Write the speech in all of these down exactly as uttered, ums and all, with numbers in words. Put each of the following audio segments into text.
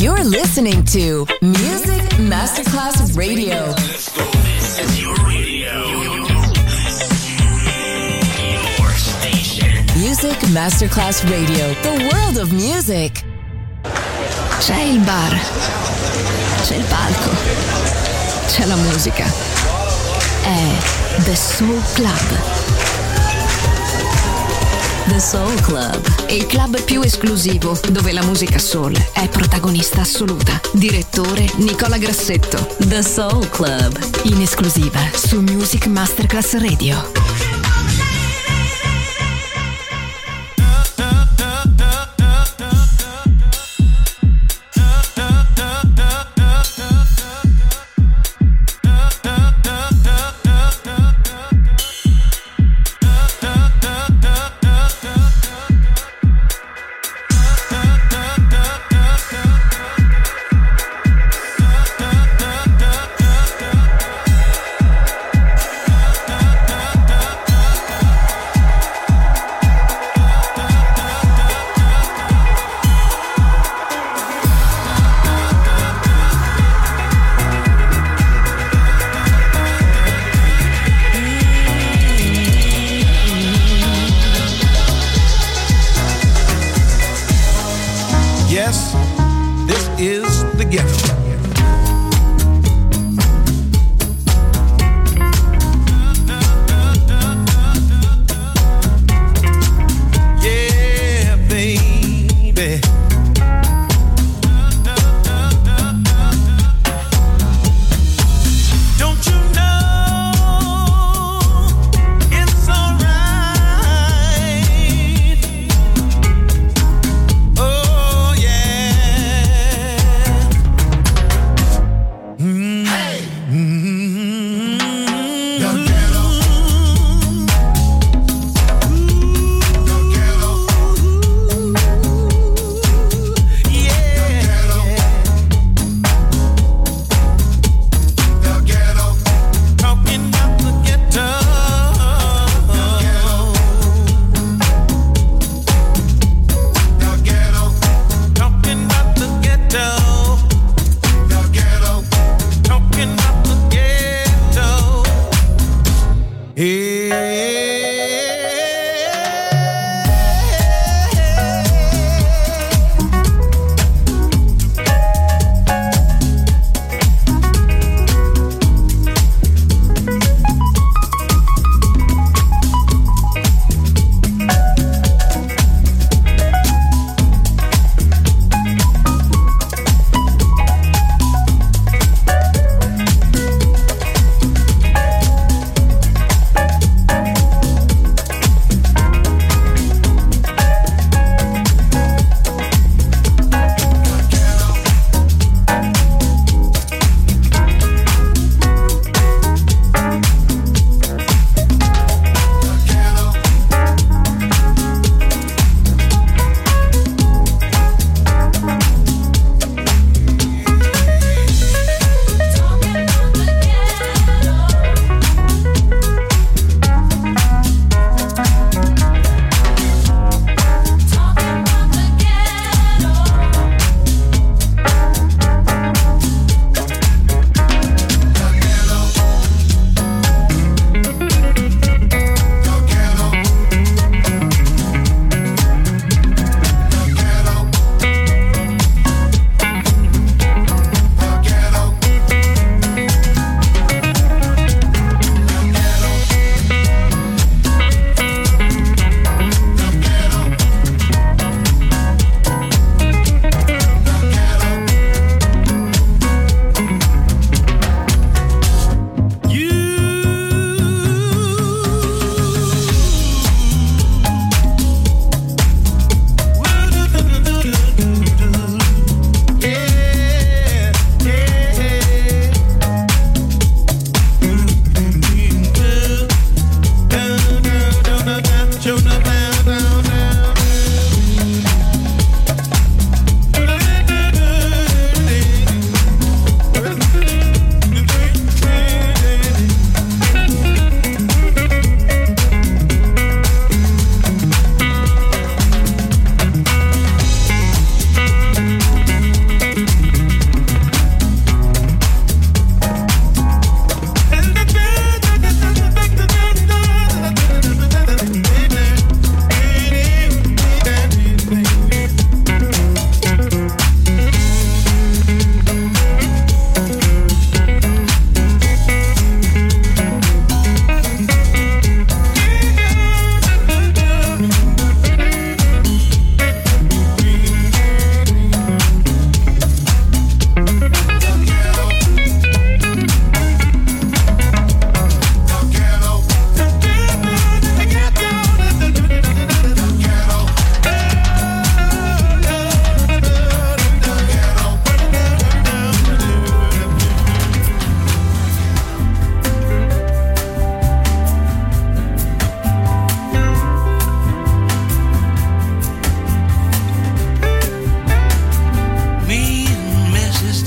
You're listening to Music Masterclass Radio. Let's go. This is your radio. Your station. Music Masterclass Radio. The world of music. C'è il bar. C'è il palco. C'è la musica. È The Soul Club. The Soul Club. Il club più esclusivo dove la musica soul è protagonista assoluta. Direttore Nicola Grassetto. The Soul Club. In esclusiva su Music Masterclass Radio.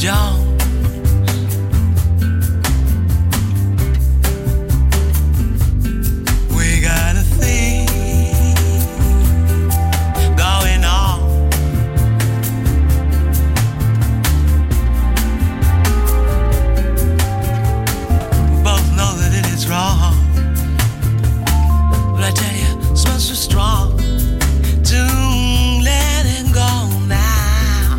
Jones. We got a thing going on. We both know that it is wrong, but I tell you, it smells so strong. Don't let it go now.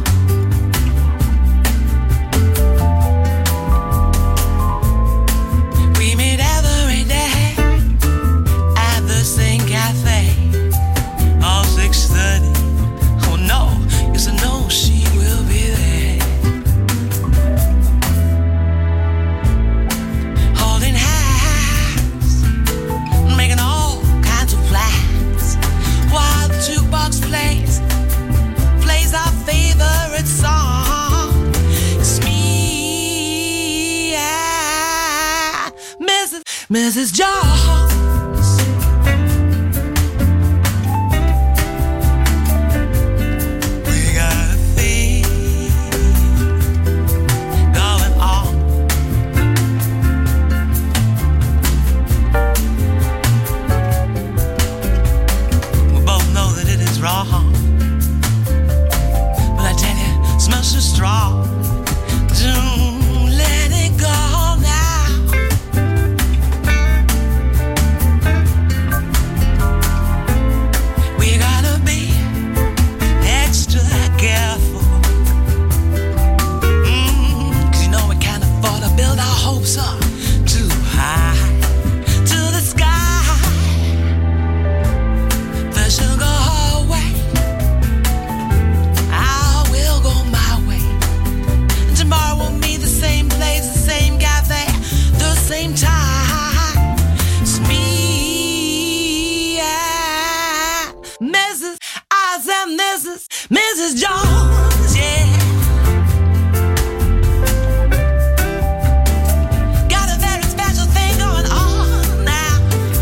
We meet every day at the same cafe, all six thirty. Oh no, yes I know she will be there, holding hands, making all kinds of plans, while the jukebox plays, plays our favorite song. It's me, yeah, Missus Missus Jones. We got a thing going on. We both know that it is wrong, but I tell you, it smells so strong. Don't let it go now. We gotta be extra careful, mm, 'cause you know we can't afford to build our hopes up too high to the sky. First she'll go her way, I will go my way. And tomorrow we'll meet the same place, the same cafe, the same time. It's me, yeah, Missus I said Missus Missus Jones, yeah. Got a very special thing going on now.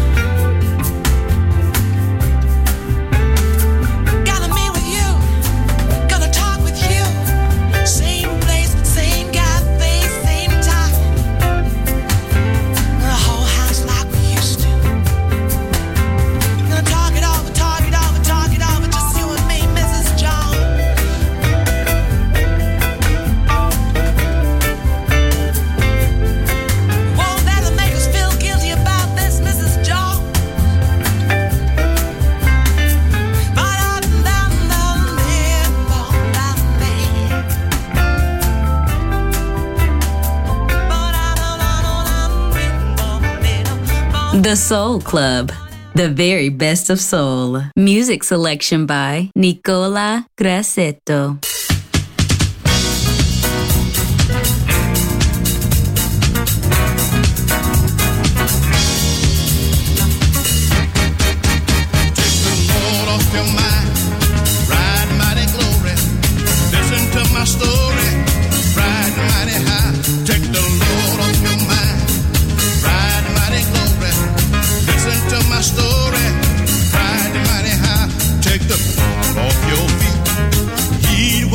Gonna meet with you, gonna talk with you. Same place, same cafe, same time. The whole house like we used to. Gonna talk it over, talk it over, talk it over. Just you and me, Missus Jones. Won't let them make us feel guilty about this, Missus Jones. The Soul Club, the very best of soul. Music selection by Nicola Grassetto. Lord off your mind, ride mighty glory. Listen to my story, ride mighty high. Take the Lord off your mind, ride mighty glory. Listen to my story, ride mighty high. Take the Lord off your feet, heed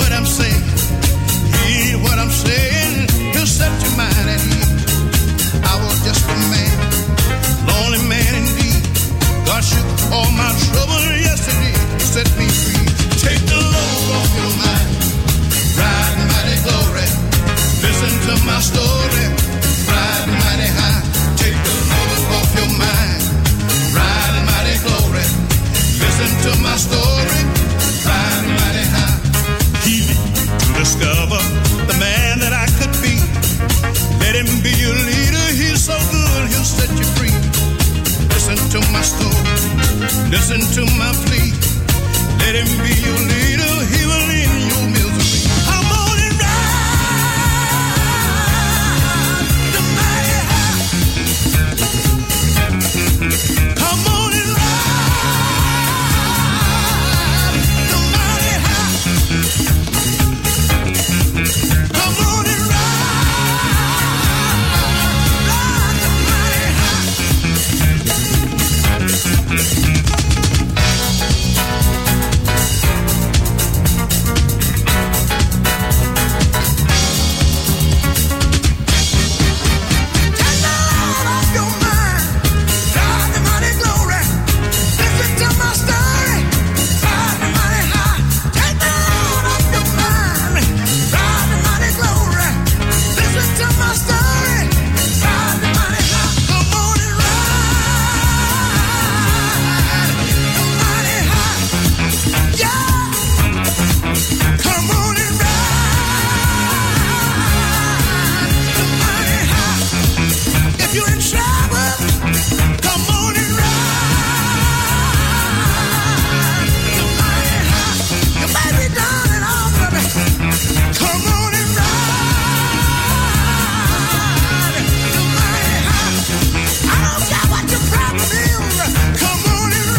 Come on and ride the mighty high. I don't care what your problem is. Come on and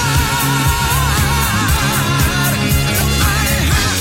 ride the mighty high.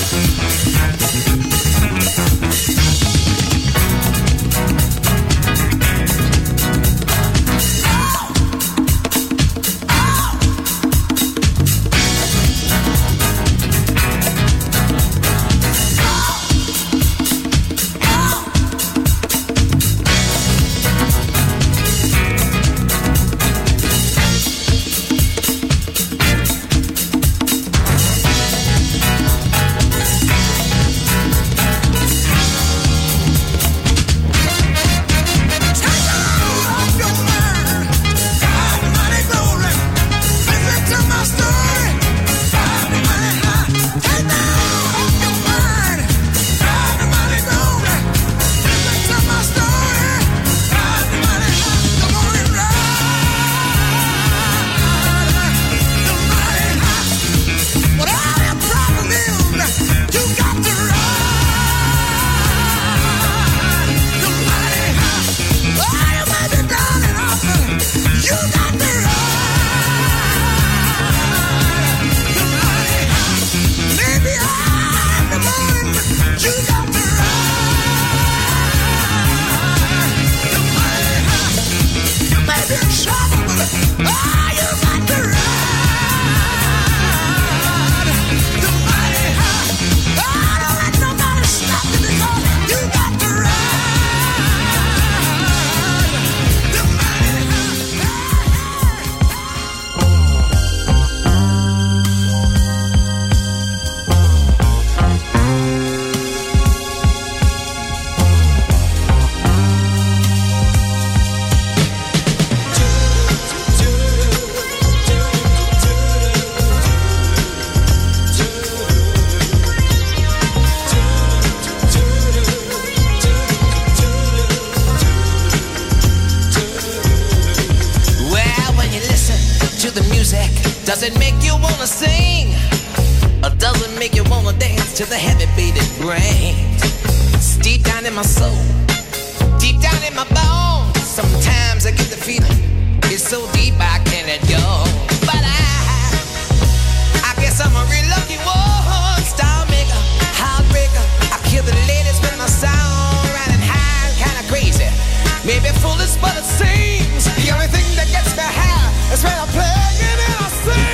Does it make you wanna sing? Or does it make you wanna dance to the heavy beat it brings? It's deep down in my soul, deep down in my bones. Sometimes I get the feeling, it's so deep I can't let go. But I, I guess I'm a real lucky one. Star maker, heartbreaker. I kill the ladies with my sound, riding high and kinda crazy. Maybe foolish, but it seems the only thing that gets me high is when I'm playing and I sing.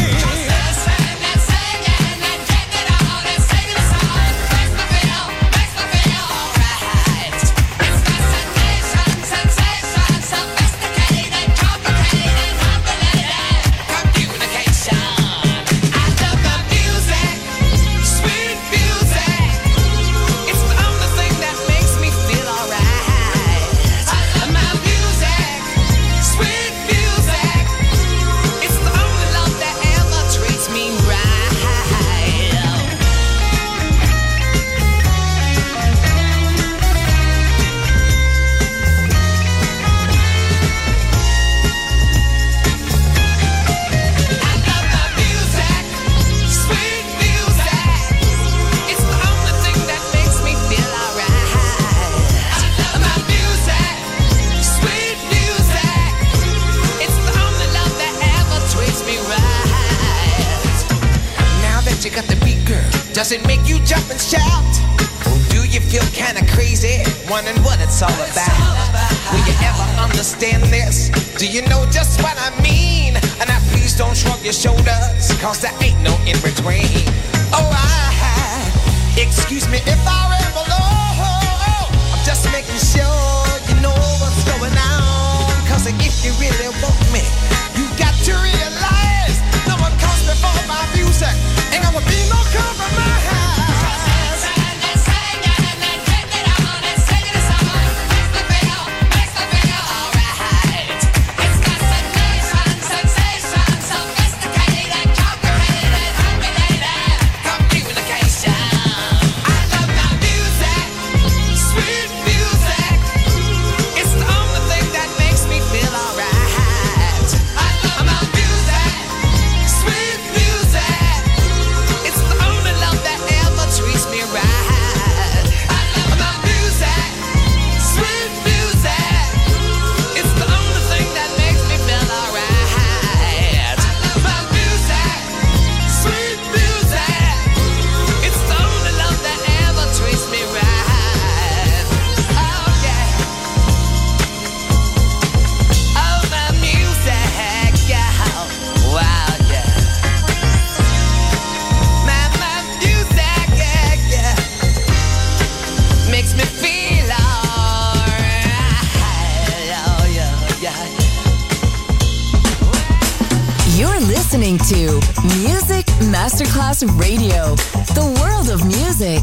Does it make you jump and shout? Or do you feel kinda crazy, wondering what it's all about? Will you ever understand this? Do you know just what I mean? And now please don't shrug your shoulders, cause there ain't no in between. Oh, I, excuse me if I ramble on. I'm just making sure you know what's going on. Cause if you really want me, you got to realize no one comes before my music. Ain't gonna be no compromise. Communication. I love my Masterclass Radio, the world of music.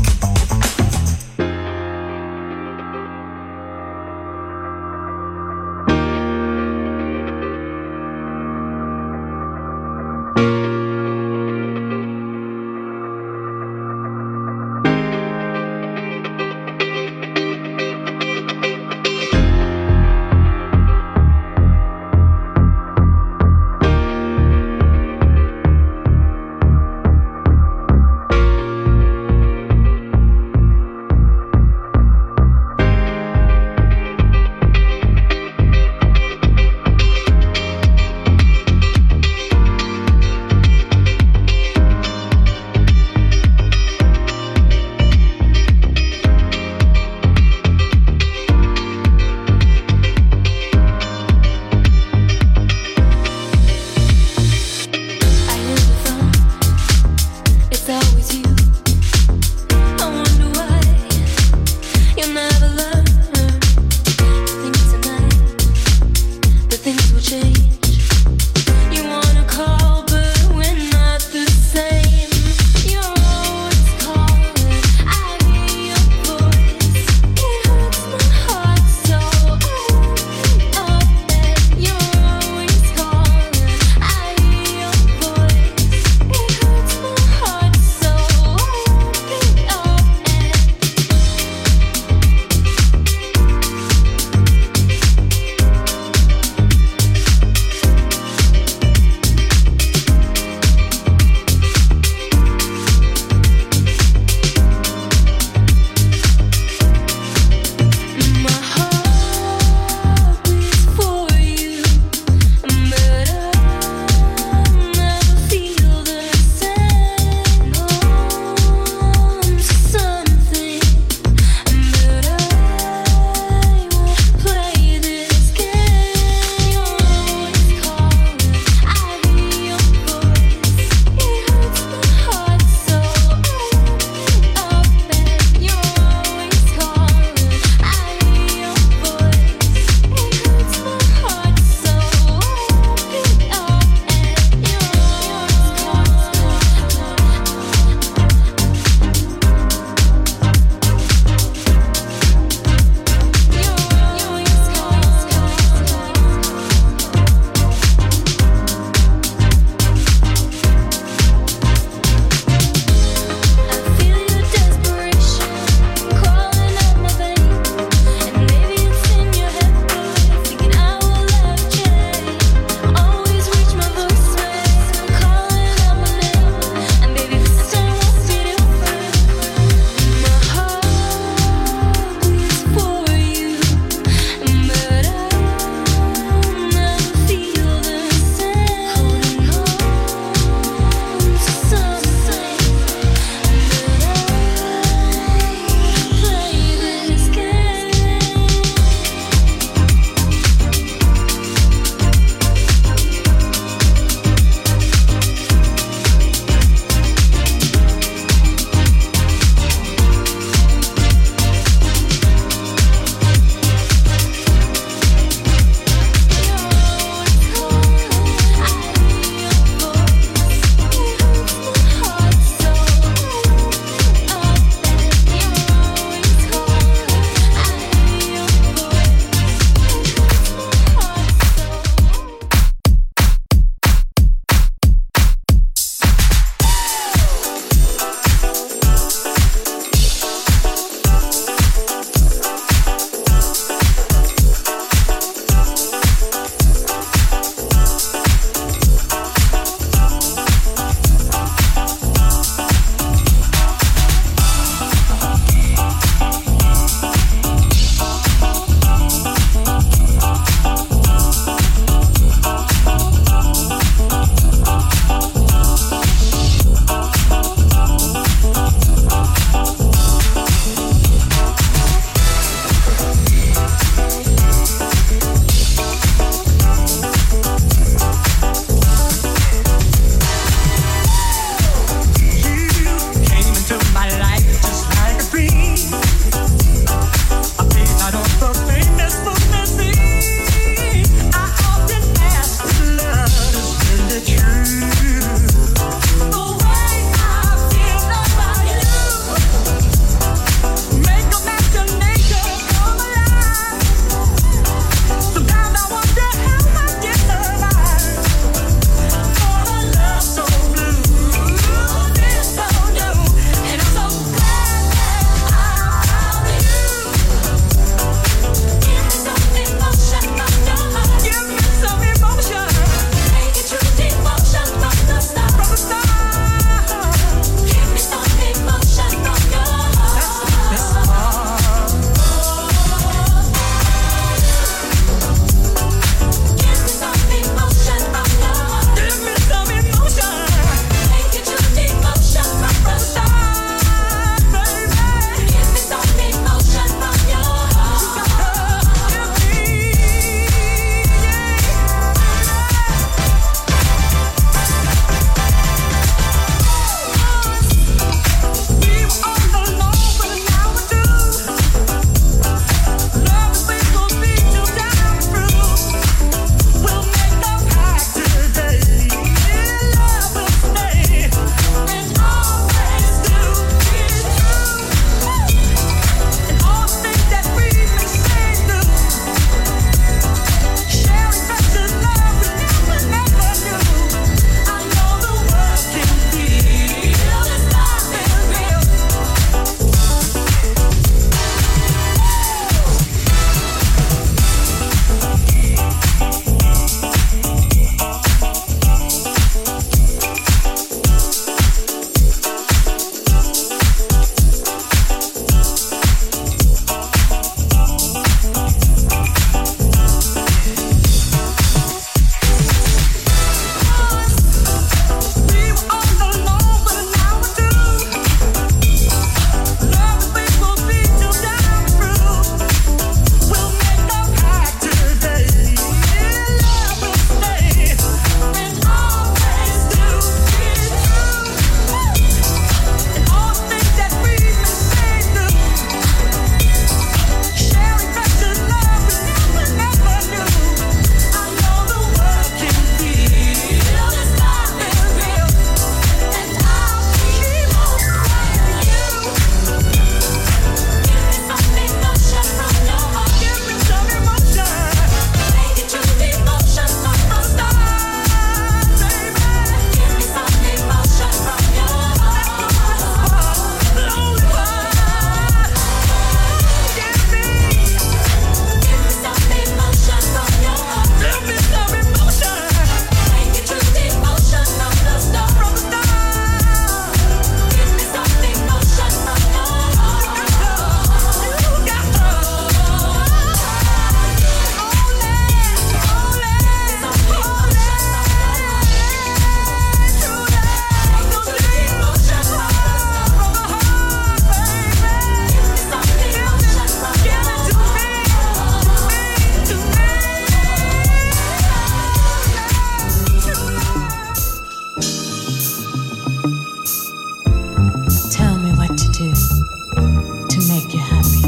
make you happy.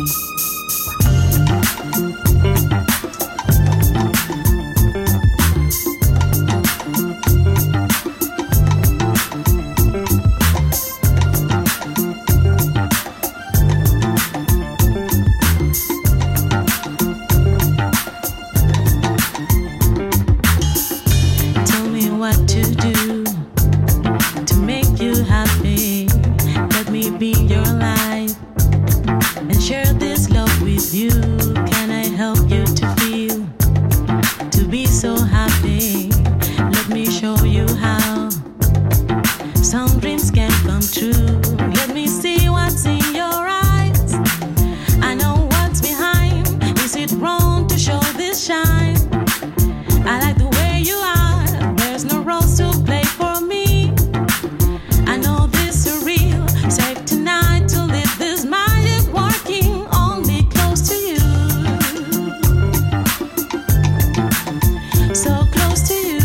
Tell me what to do to make you happy. Let me be your life and share this love with you. Can I help you to feel, to be so happy? Let me show you how some dreams can come true. Let me see what's in your eyes. I know what's behind. Is it wrong to show this shine? I like the way you are. There's no roles to play for me. I know this is real. Safe tonight to live this magic working only close to you. So close to you.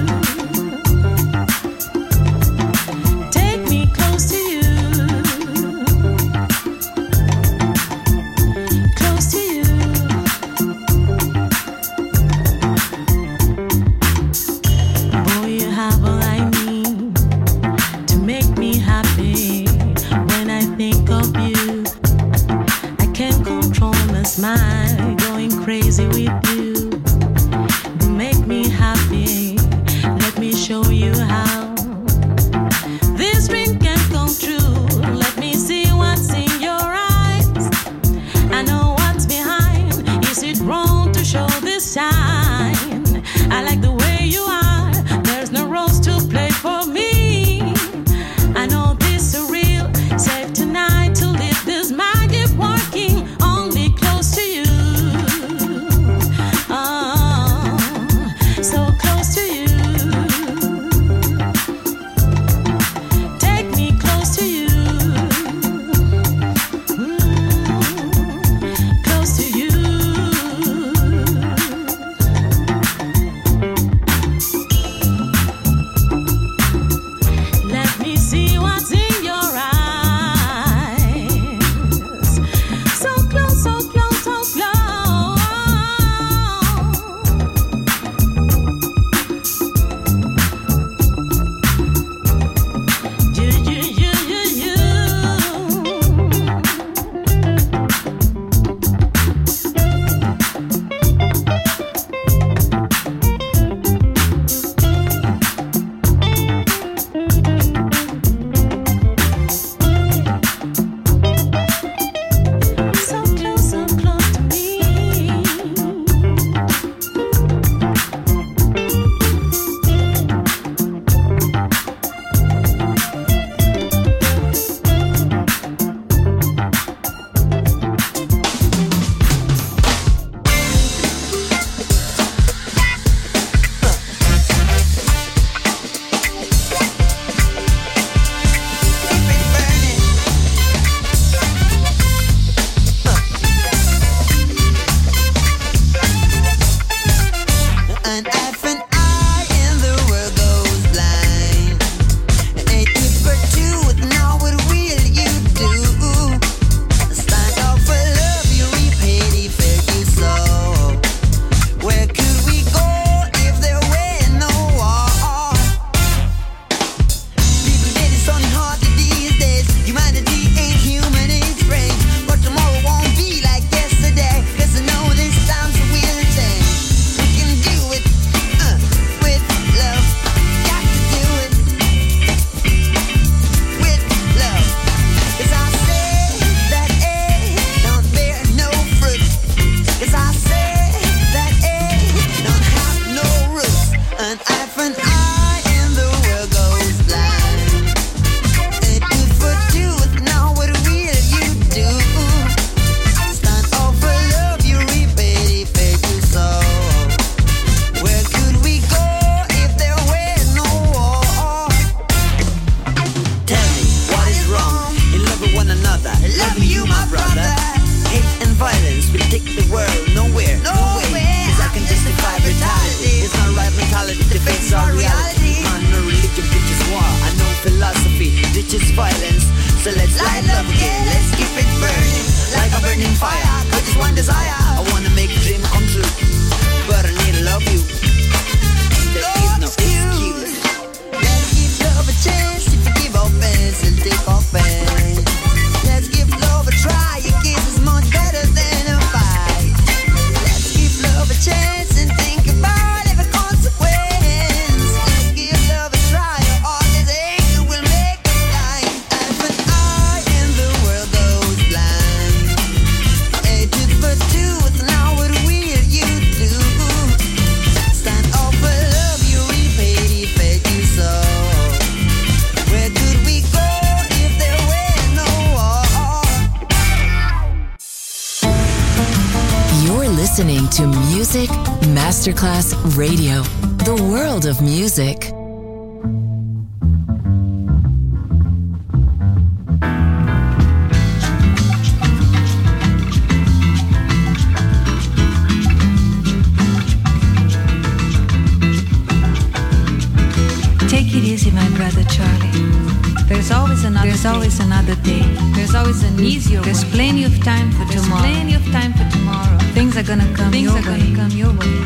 Take me close to you. Close to you. Boy, you have all I need to make me happy. When I think of you, I can't control my smile. Going crazy with you. You make me happy. Let me show you how this dream can come true. Let me see what's in your eyes. I know what's behind. Is it wrong to show this sign? I like the way you are. There's no roles to play for me. I know this is real. Safe tonight to live this magic working only close to you. desire. I wanna make a dream come true, but I need to love you. There is no excuse. Let's give love a chance. If you give offense, it'll take offense. Let's give love a try. Your kiss is much better than a fight. Let's give love a chance and think about every consequence. Let's give love a try. All this anger will make us die. And when I and the world goes blind, hatred for truth. Now what will you do? Stand up for love. You repay the fate you saw. Where could we go if there were no war? You're listening to Music Masterclass Radio, the world of music. Take it easy, my brother Charlie. There's always another There's day. always another day. There's always an easier There's way. plenty of time for There's tomorrow. plenty of time for tomorrow. Things are gonna come Things your are way. Gonna come your way.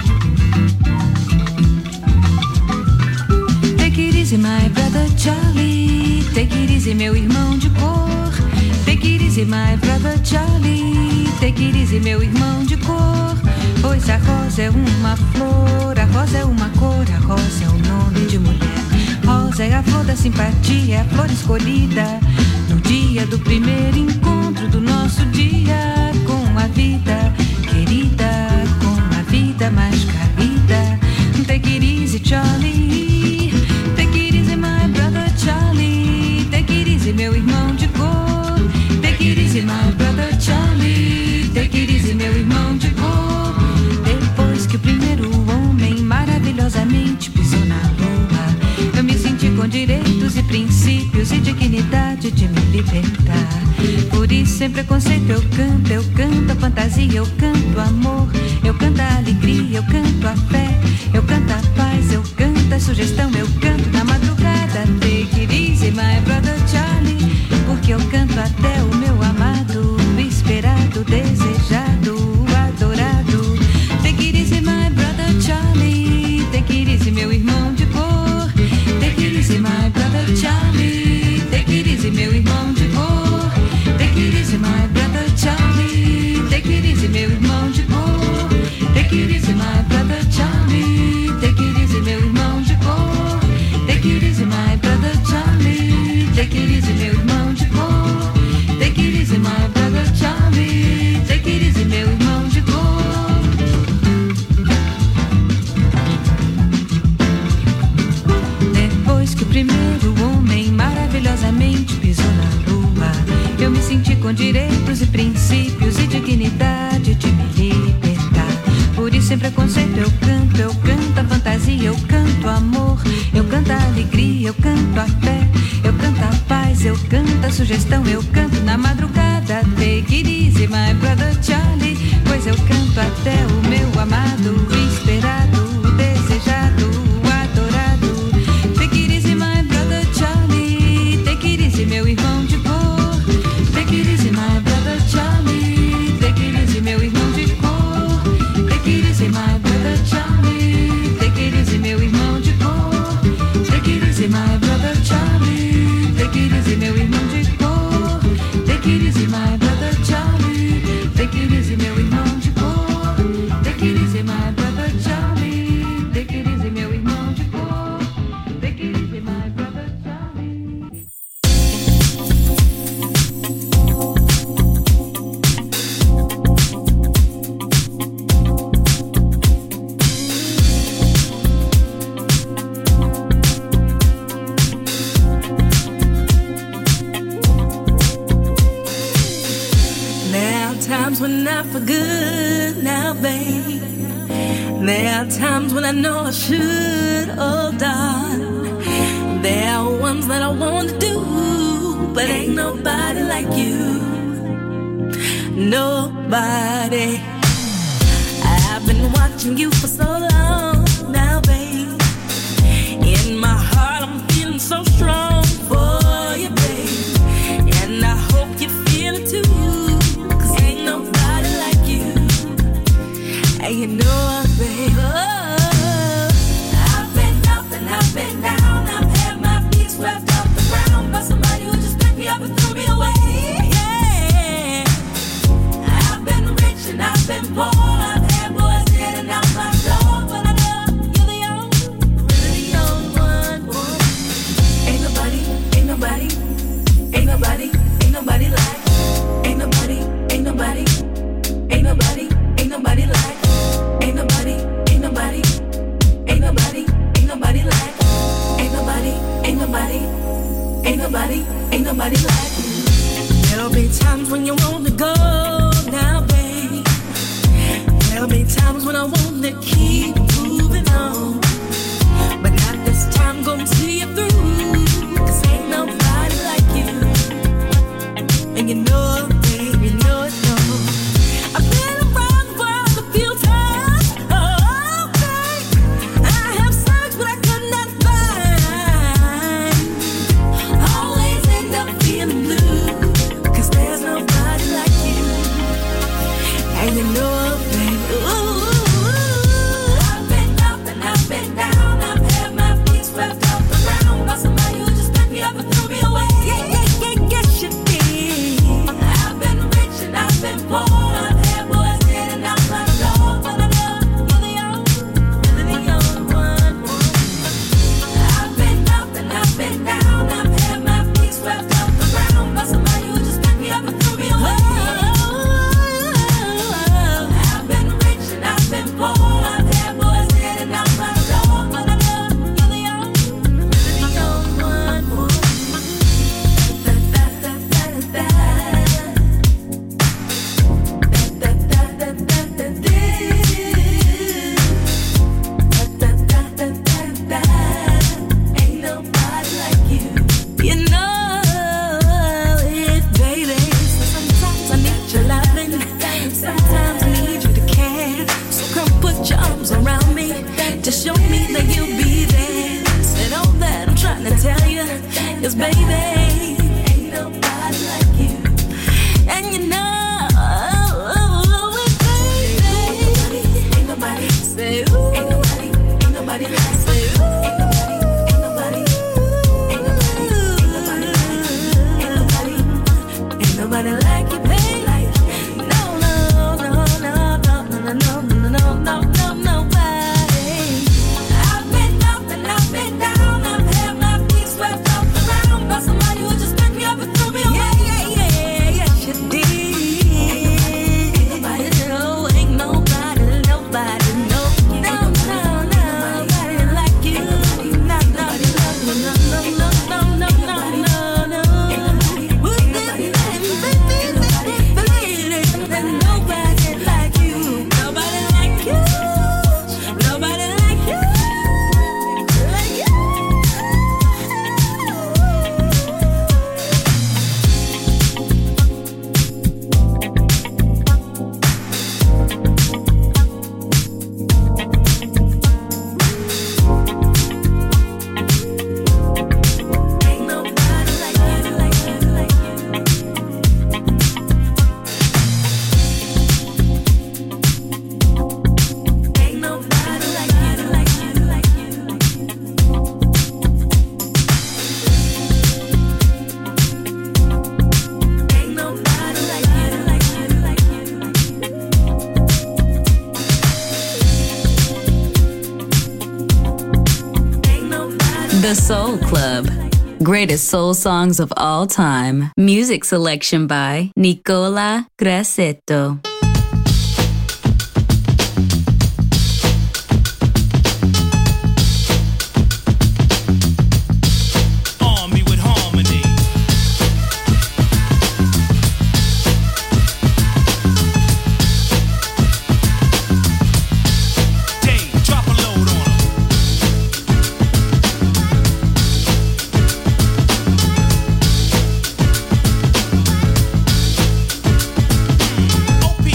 Take it easy, my brother Charlie. Take it easy, meu irmão de cor. Take it easy, my brother Charlie. Take it easy, meu irmão de cor. Pois a rosa é uma flor, a rosa é uma cor, a rosa é o nome de mulher. Rosa é a flor da simpatia, é a flor escolhida no dia do primeiro encontro do nosso dia com a vida querida, com a vida mais querida. Take it easy, Charlie. Take it easy, my brother Charlie. Take it easy, meu irmão de cor. Take it easy, my brother Charlie. Take it easy, meu irmão de cor. Depois que o primeiro homem maravilhosamente pisou na lua, eu me senti com direitos e princípios e dignidade de me libertar. Por isso, sem preconceito, eu canto, eu canto a fantasia, eu canto amor, eu canto a alegria, eu canto a fé, eu canto a paz, eu canto a sugestão, eu canto na madrugada. Take it easy, my brother Charlie, porque eu canto até o meu amado, esperado, desejado, adorado. Take it easy, my brother Charlie. Take it easy, meu irmão de cor. Take it easy, my brother Charlie. Take it easy, meu irmão de cor. Take it easy, my brother Charlie. Take it easy, meu irmão de cor. Take it easy, my brother Charlie. Take it easy, meu irmão de cor. Take it easy, my brother Charlie. Take it easy, meu irmão de cor. Take it easy, my brother Charlie. Take it easy, meu irmão de cor. Depois que o primeiro homem maravilhosamente pisou na lua, eu me senti com direitos e princípios e dignidade de me libertar. Por isso, sem preconceito, eu canto, eu canto a fantasia, eu canto amor, eu canto a alegria, eu canto a fé, eu canto a paz, eu canto a sugestão, eu canto na madrugada. Take it easy, my brother Charlie, pois eu canto até o meu amado, esperado, desejado, adorado. Take it easy, my brother Charlie. Take it easy, meu irmão de cor. Take it easy, my brother Charlie. Take it easy, meu irmão de cor. Take it easy, my brother Charlie. Take it easy, meu irmão de cor. Take it easy, my brother Charlie. Take it easy, meu irmão de cor. Take it easy, my brother Charlie. Take it easy, meu irmão de cor. Take it easy, my brother Charlie. Take it easy, meu irmão de cor. Take it easy, my brother Charlie. Times when I for good now, babe. There are times when I know I should have done. There are ones that I want to do, but ain't nobody like you. Nobody. I've been watching you for so long now, babe. In my heart I'm feeling so strong for you, babe. And I hope you feel it too. Ain't nobody like you. you know, baby. Ooh, I've been up and I've been down. I've had my feet swept off the ground by somebody who just picked me up and threw me away. Yeah, yeah, yeah, yes you did. I've been rich and I've been poor. I've had boys in and out my door, but I know you're the only, you're the only one. I've been up and I've been down. I've had my feet swept off the ground by somebody who just picked me up and threw me away. I've been rich and I've been poor. I've had boys in and out my door, but I know you're the only, you're the only one. Da, da, da, da, da, da. Da, da, da, da, da, da, da. Da, da, da, da, da. Ain't nobody like you. You know it, baby. So sometimes I need your loving, sometimes I need you to care. So come put your arms around me to show me that you'll be there. Said all that I'm trying to tell you is, baby, ain't nobody like you. And you know it, baby. Ain't nobody, say ooh. Ain't nobody, ain't nobody like, say ooh. Ain't nobody, ain't nobody, ain't nobody, ain't nobody, ain't nobody like you, baby. No, no, no, no, no, no, no, no, no, no, no, nobody. I've been up and I've been down. I've had my feet swept off the ground by somebody who just picked me up and threw me away. Yeah, yeah, yeah, yes you did. Nobody, no, ain't nobody, nobody, no, no, no, nobody like you. No, no, no, no, no, no, no, no, no, no, no. Would there be nobody like you? Nobody like you. Nobody like you. Like you. Ain't nobody like you, like you, like you. Ain't nobody like you, like you, like you. Ain't nobody like you, like you, like you. Ain't nobody. The Soul Club. Greatest soul songs of all time. Music selection by Nicola Grassetto. Arm me with harmony. Dave, drop a load on 'em. O P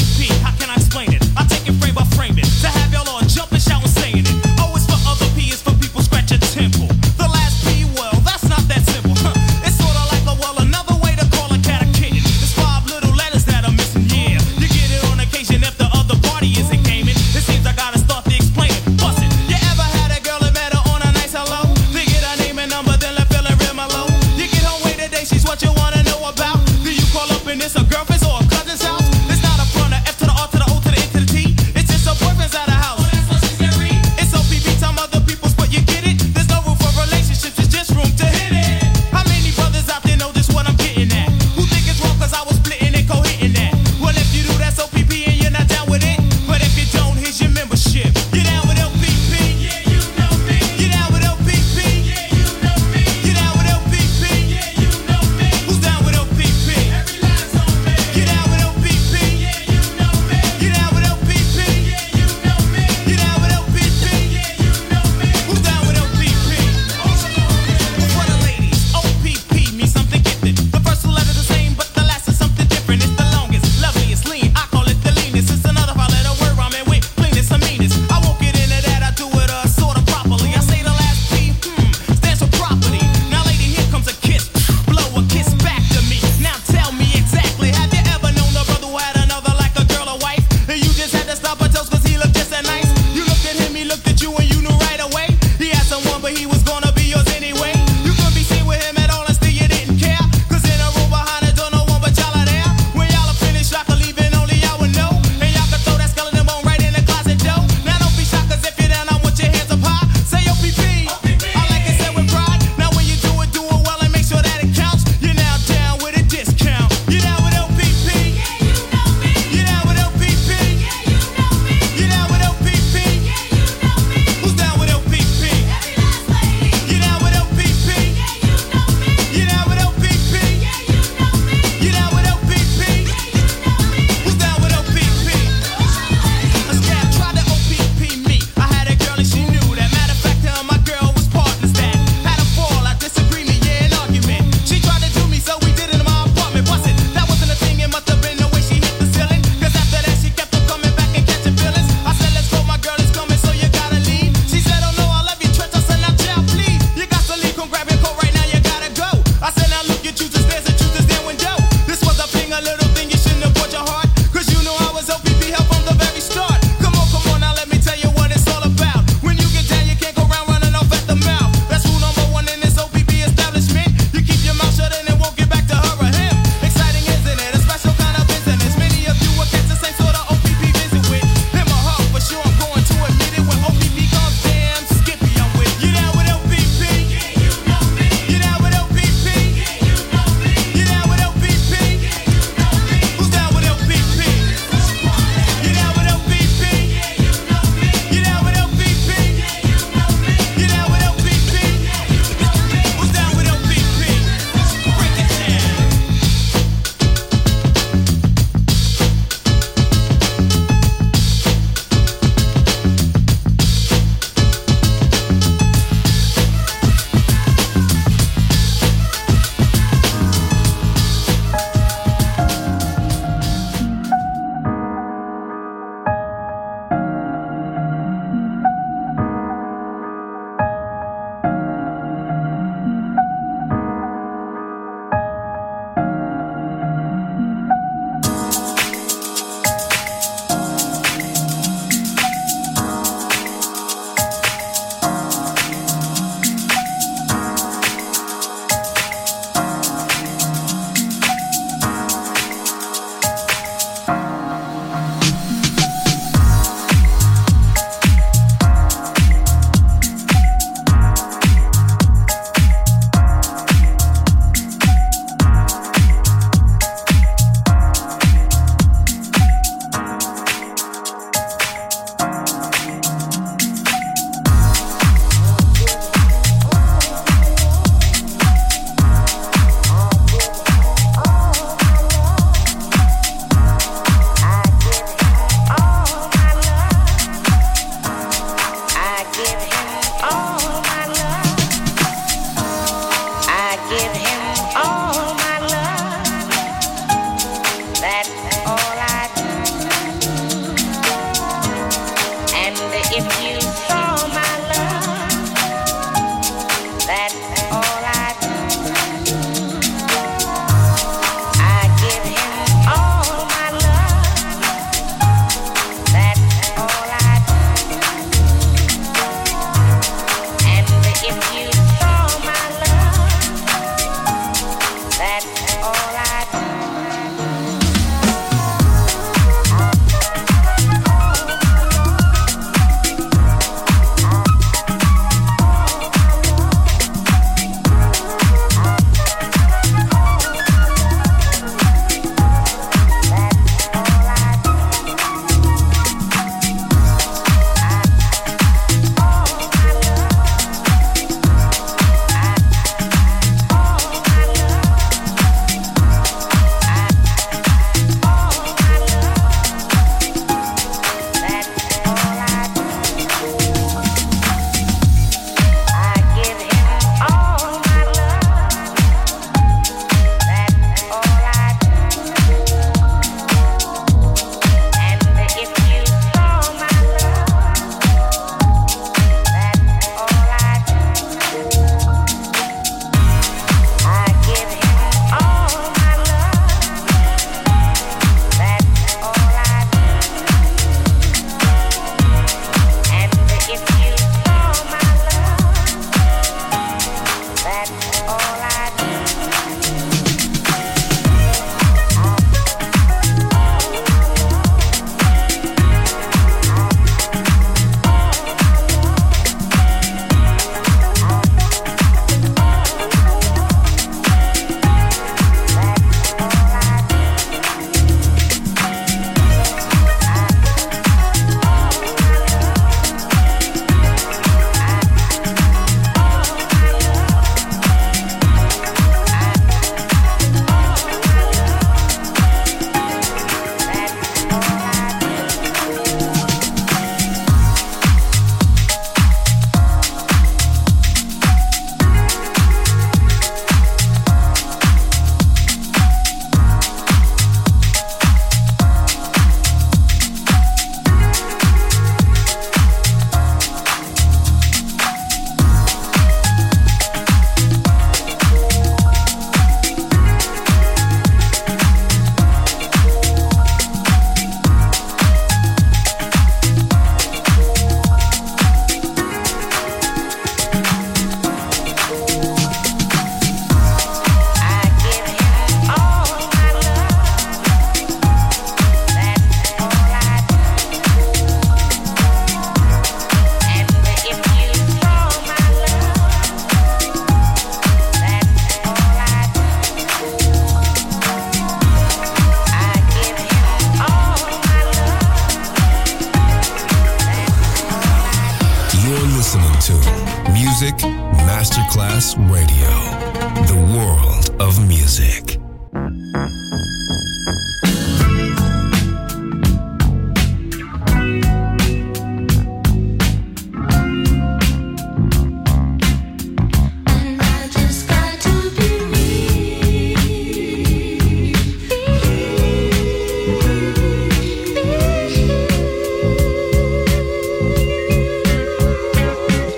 Music Masterclass Radio. The world of music.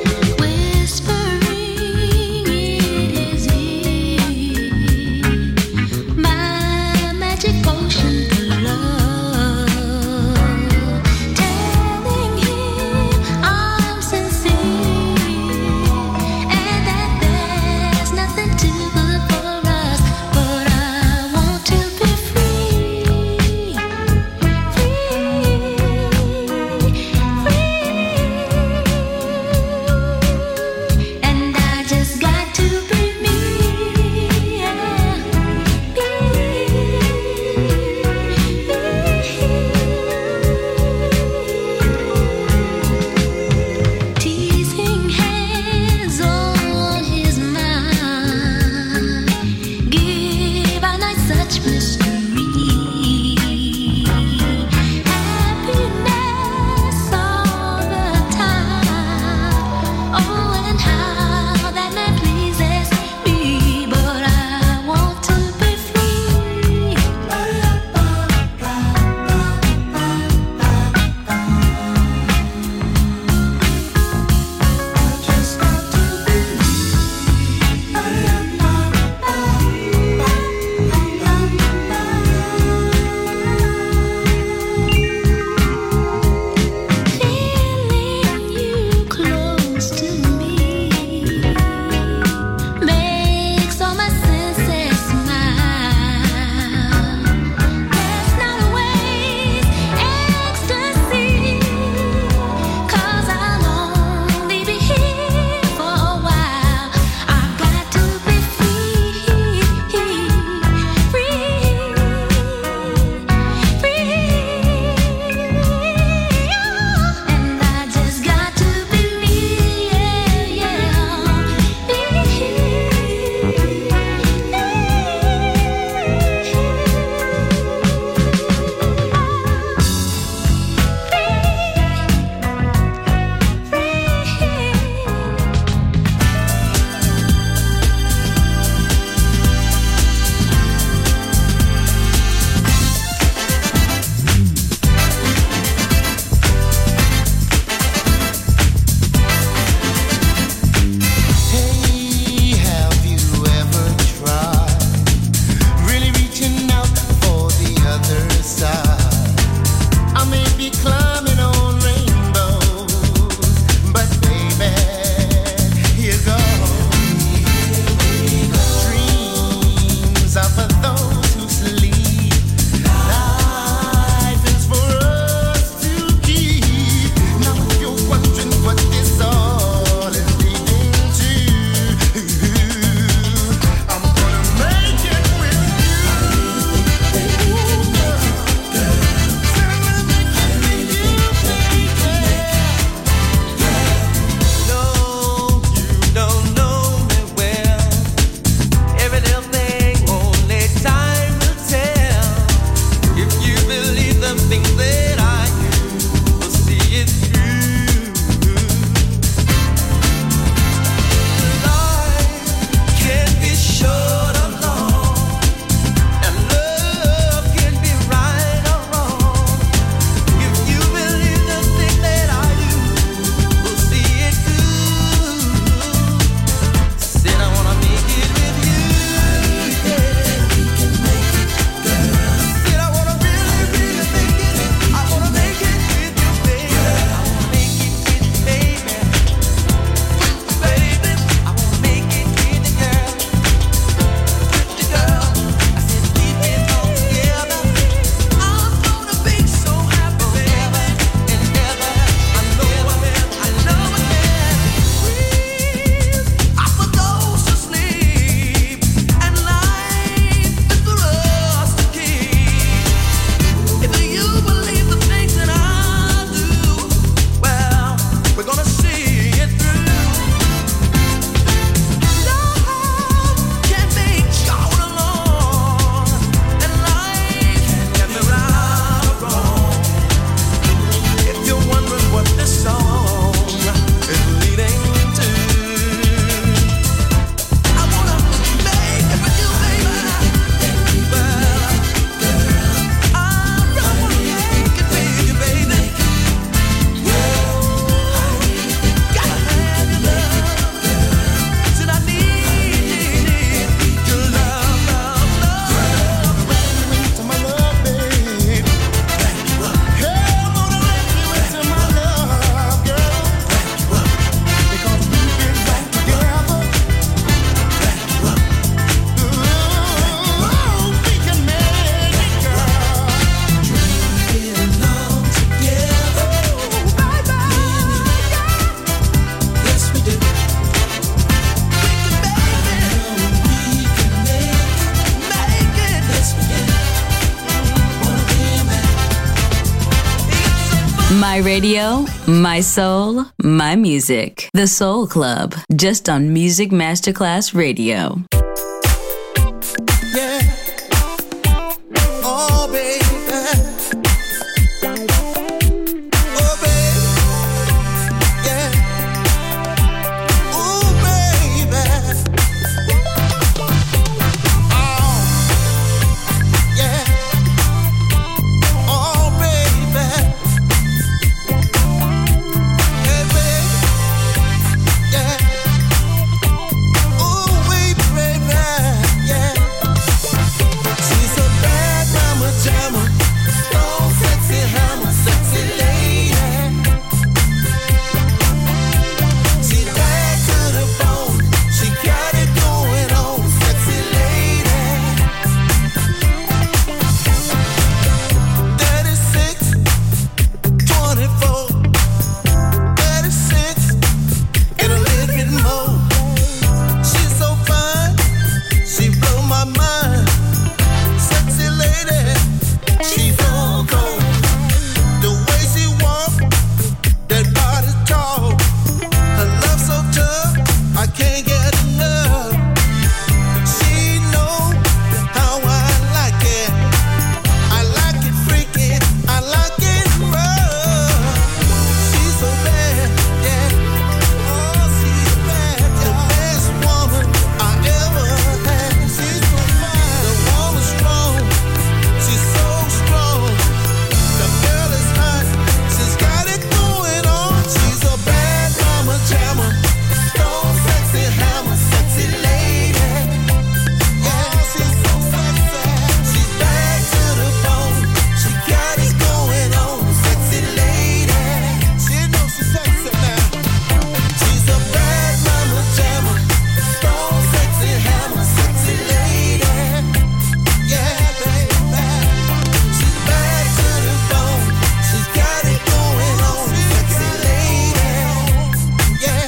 Whispering, it is easy. My radio, my soul, my music. The Soul Club, just on Music Masterclass Radio. Yeah. Oh, baby. Oh, baby. Yeah. Oh, baby. Oh, yeah. Oh, baby. Hey, baby. Yeah. Oh, baby, baby. Yeah. She's a bad mama jamma, strong, sexy hammer, sexy lady. She bad to the bone, she got it going on, sexy lady. thirty-six, twenty-four, thirty-six, and a little bit more. She's so fine, she blow my mind. Sexy lady, she's so cold. The way she walk, that body tall, her love so tough, I can't get enough. She know how I like it. I like it freaky, I like it rough. She's so bad, yeah. Oh, she's bad, the best woman I ever had. She's so fine, the woman strong. She's so strong. The girl is hot. She's got it going on. She's a bad mama jamma. Strong, sexy hammer, sexy lady. Yeah, she's so sexy. She's bad to the bone. She got it going on. Sexy lady. She knows she's sexy now. She's a bad mama jamma. Strong, sexy hammer, sexy lady. Yeah, baby. She's bad to the bone. She's got it going on. Sexy lady. Yeah.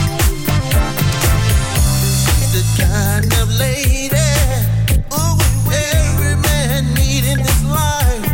The kind of lady, ooh, every man need in his life.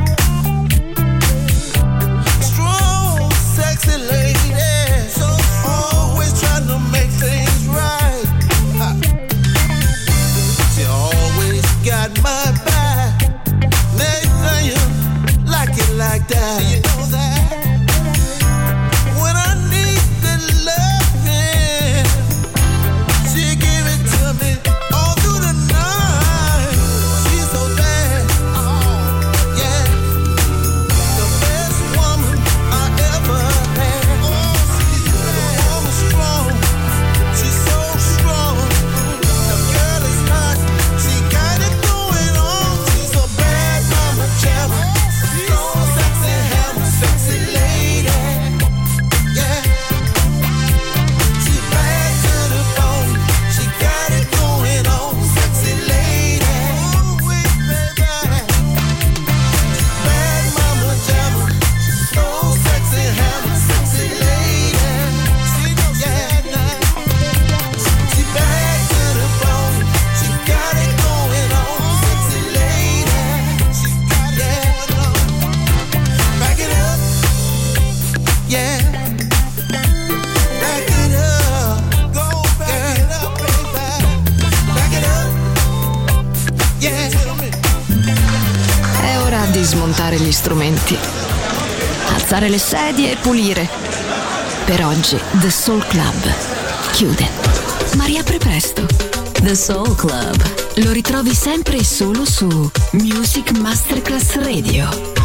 Strong, sexy lady. So always trying to make things right. Ha. She always got my back. Next time you like it like that. You know that. When I need the loving, she give it to me all through the night. She's so bad, oh yeah, the best woman I ever had. Oh, she's bad, the woman strong, she's so strong. The girl is hot, she got it going on. She's a bad mama jamma, strong, sexy hammer, sexy lady. Yeah. She's bad to the bone. She got it going on. Sexy lady. Ooh, wee, baby. Bad mama jamma. So sexy hammer. Sexy lady. She knows yeah, now. She bad to the bone. She got it going on. Sexy lady. She got it going on. Back it up. Yeah. Back it up, go back it up, baby. Back it up, yeah. È ora di smontare gli strumenti, alzare le sedie e pulire. Per oggi The Soul Club chiude, ma riapre presto. The Soul Club. Lo ritrovi sempre e solo su Music Masterclass Radio.